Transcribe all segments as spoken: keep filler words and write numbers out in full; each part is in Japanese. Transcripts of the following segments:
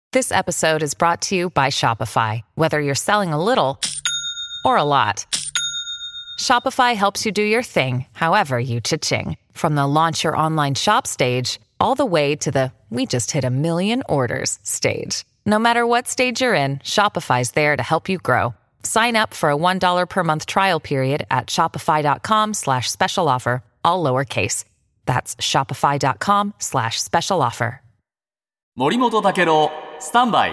This episode is brought to you by Shopify. Whether you're selling a little or a lot, Shopify helps you do your thing, however you cha-ching. From the launch your online shop stage, all the way to the we just hit a million orders stage. No matter what stage you're in, Shopify's there to help you grow. Sign up for a one dollar per month trial period at shopify.com slash special offer, all lowercase. That's shopify.com slash special offer. 森本武郎スタンバイ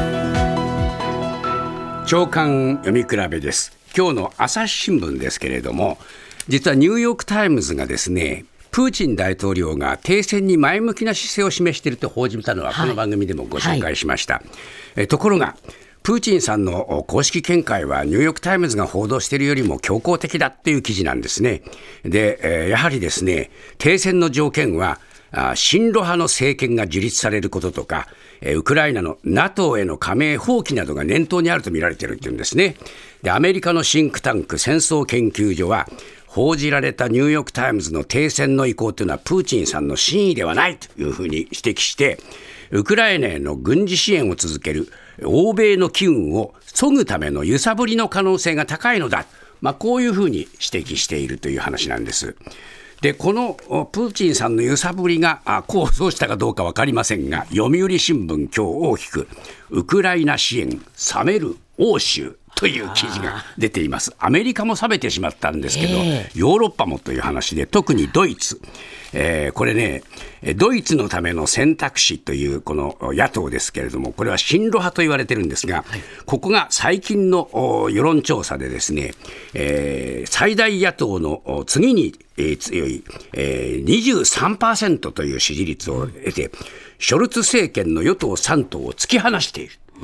朝刊読み比べです。今日の朝日新聞ですけれども、実はニューヨークタイムズがですね、プーチン大統領が停戦に前向きな姿勢を示していると報じたのはこの番組でもご紹介しました、はいはい、えところがプーチンさんの公式見解はニューヨークタイムズが報道しているよりも強硬的だっていう記事なんですね。で、えー、やはりですね、停戦の条件は親ロ派の政権が樹立されることとか、ウクライナの ナトー への加盟放棄などが念頭にあると見られているというんですね。で、アメリカのシンクタンク戦争研究所は、報じられたニューヨークタイムズの停戦の意向というのはプーチンさんの真意ではないというふうに指摘して、ウクライナへの軍事支援を続ける欧米の機運を削ぐための揺さぶりの可能性が高いのだ、まあ、こういうふうに指摘しているという話なんです。で、このプーチンさんの揺さぶりが功を奏したかどうか分かりませんが、読売新聞今日大きくウクライナ支援冷める欧州という記事が出ています。アメリカも冷めてしまったんですけど、えー、ヨーロッパもという話で、特にドイツ、えー、これね、ドイツのための選択肢というこの野党ですけれども、これは親ロ派と言われてるんですが、はい、ここが最近の世論調査でですね、えー、最大野党の次に強い、えー、にじゅうさんパーセント という支持率を得て、ショルツ政権の与党さん党を突き放している。うん、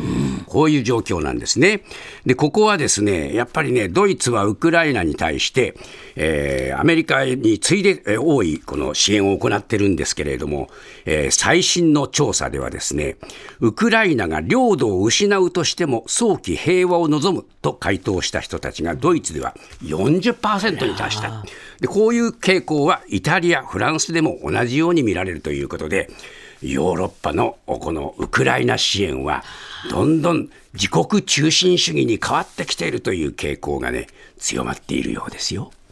こういう状況なんですね。で、ここはですね、やっぱりね、ドイツはウクライナに対して、えー、アメリカに次いで、えー、多いこの支援を行ってるんですけれども、えー、最新の調査ではですね、ウクライナが領土を失うとしても早期平和を望むと回答した人たちがドイツでは よんじゅっパーセント に達した。で、こういう傾向はイタリア、フランスでも同じように見られるということで、ヨーロッパのこのウクライナ支援はどんどん自国中心主義に変わってきているという傾向がね、強まっているようですよ。